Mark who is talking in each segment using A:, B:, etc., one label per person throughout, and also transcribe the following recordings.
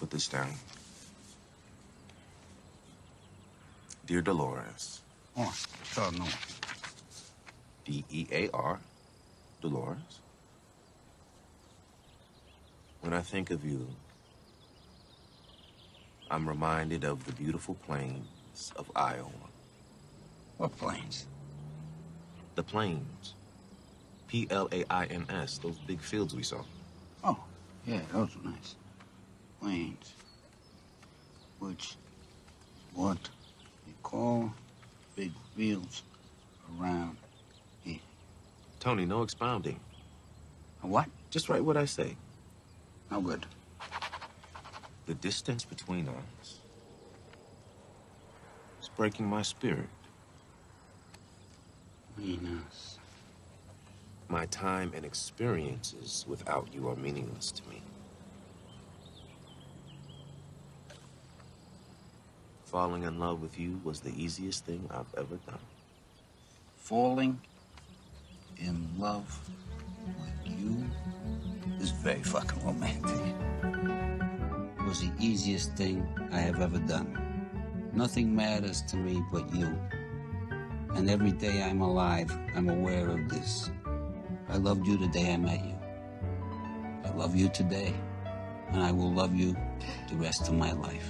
A: Put this down. Dear Dolores.
B: Oh, no.
A: D-E-A-R, Dolores. When I think of you, I'm reminded of the beautiful plains of Iowa.
B: What plains?
A: The plains. Plains, those big fields we saw.
B: Oh, yeah, those are nice. Plains. Which, what you call big fields around here.
A: Tony, no expounding.
B: A what?
A: Just write what I say.
B: No good.
A: The distance between us is breaking my spirit.
B: Between us.
A: My time and experiences without you are meaningless to me. Falling in love with you was the easiest thing I've ever done.
B: Falling in love with you is very fucking romantic. It was the easiest thing I have ever done. Nothing matters to me but you. And every day I'm alive, I'm aware of this. I loved you the day I met you. I love you today, and I will love you the rest of my life.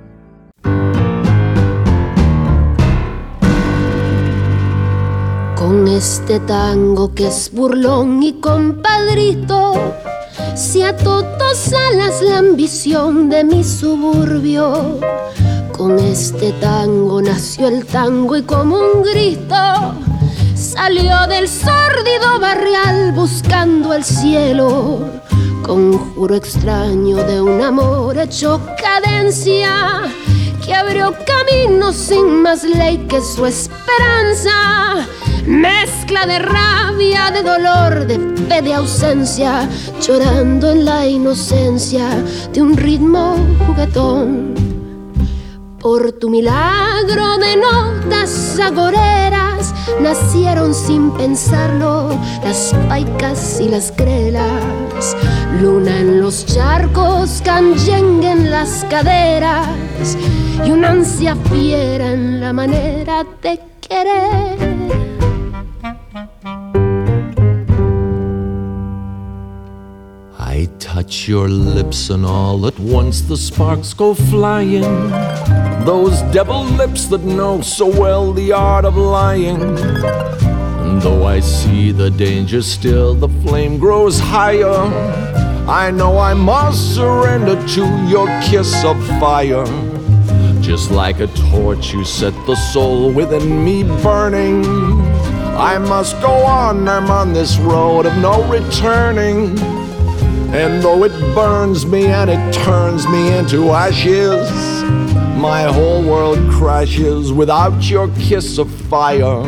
C: Con este tango que es burlón y compadrito, se ató dos alas la ambición de mi suburbio. Con este tango nació el tango y como un grito salió del sórdido barrial buscando el cielo. Conjuro extraño de un amor hecho cadencia que abrió camino sin más ley que su esperanza. Mezcla de rabia, de dolor, de fe, de ausencia, llorando en la inocencia de un ritmo juguetón. Por tu milagro de notas agoreras nacieron sin pensarlo las paicas y las grelas. Luna en los charcos, canyengue en las caderas y una ansia fiera en la manera de querer.
D: I touch your lips and all at once the sparks go flying. Those devil lips that know so well the art of lying. And though I see the danger still, the flame grows higher. I know I must surrender to your kiss of fire. Just like a torch you set the soul within me burning. I must go on, I'm on this road of no returning. And though it burns me and it turns me into ashes, my whole world crashes without your kiss of fire.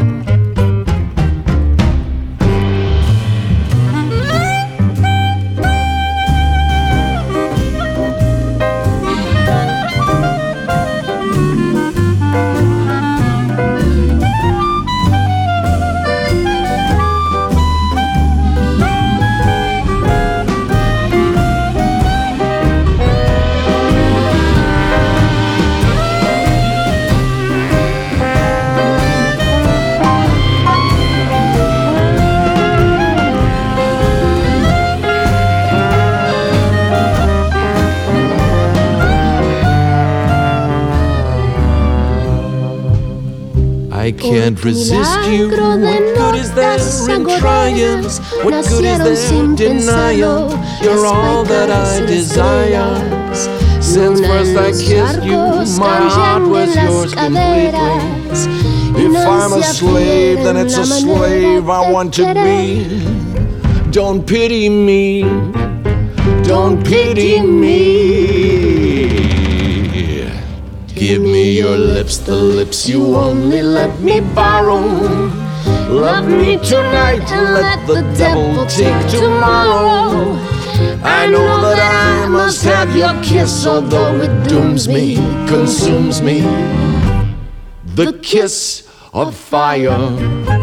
D: I can't resist you. What good is there in trying? What good is there in denial? You're all that I desire. Since first I kissed you, my heart was yours completely. If I'm a slave, then it's a slave I want to be. Don't pity me. Don't pity me. Give me your lips, the lips you only let me borrow. Love me tonight and let the devil take tomorrow. I know that I must have your kiss, although it dooms me, consumes me. The kiss of fire.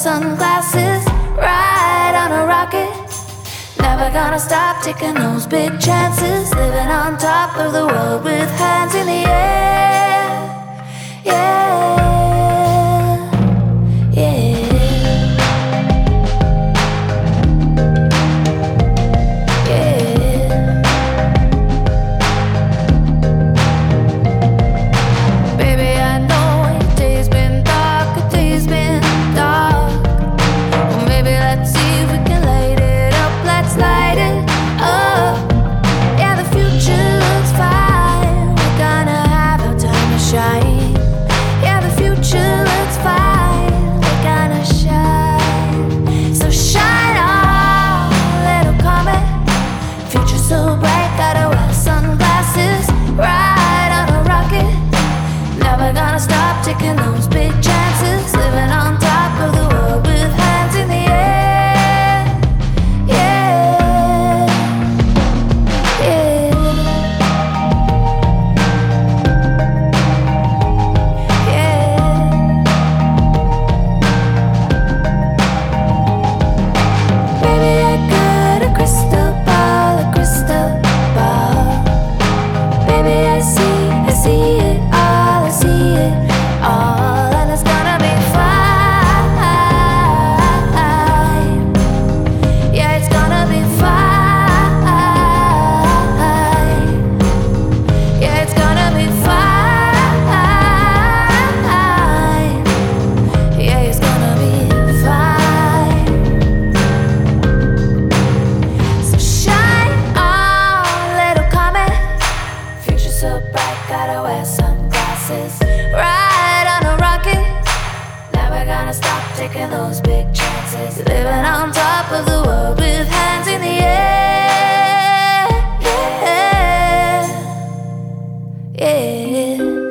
E: sunglasses, ride on a rocket. Never gonna stop taking those big chances, living on top of the world with hands in the air. Yeah, yeah. Taking those big chances, living on top of the world with hands in the air. Yeah, yeah, yeah. Baby, I got a crystal ball, a crystal ball. Baby, I see it all, I see it. And it's gonna be fine. Yeah, it's gonna be fine. Yeah, it's gonna be fine. Yeah, it's gonna be fine. So shine on, little comet. Future so bright, gotta wear sunglasses. Ride on a rocket. Never gonna stop taking those big chances, living on top of the world with hands in the air. Yeah, yeah.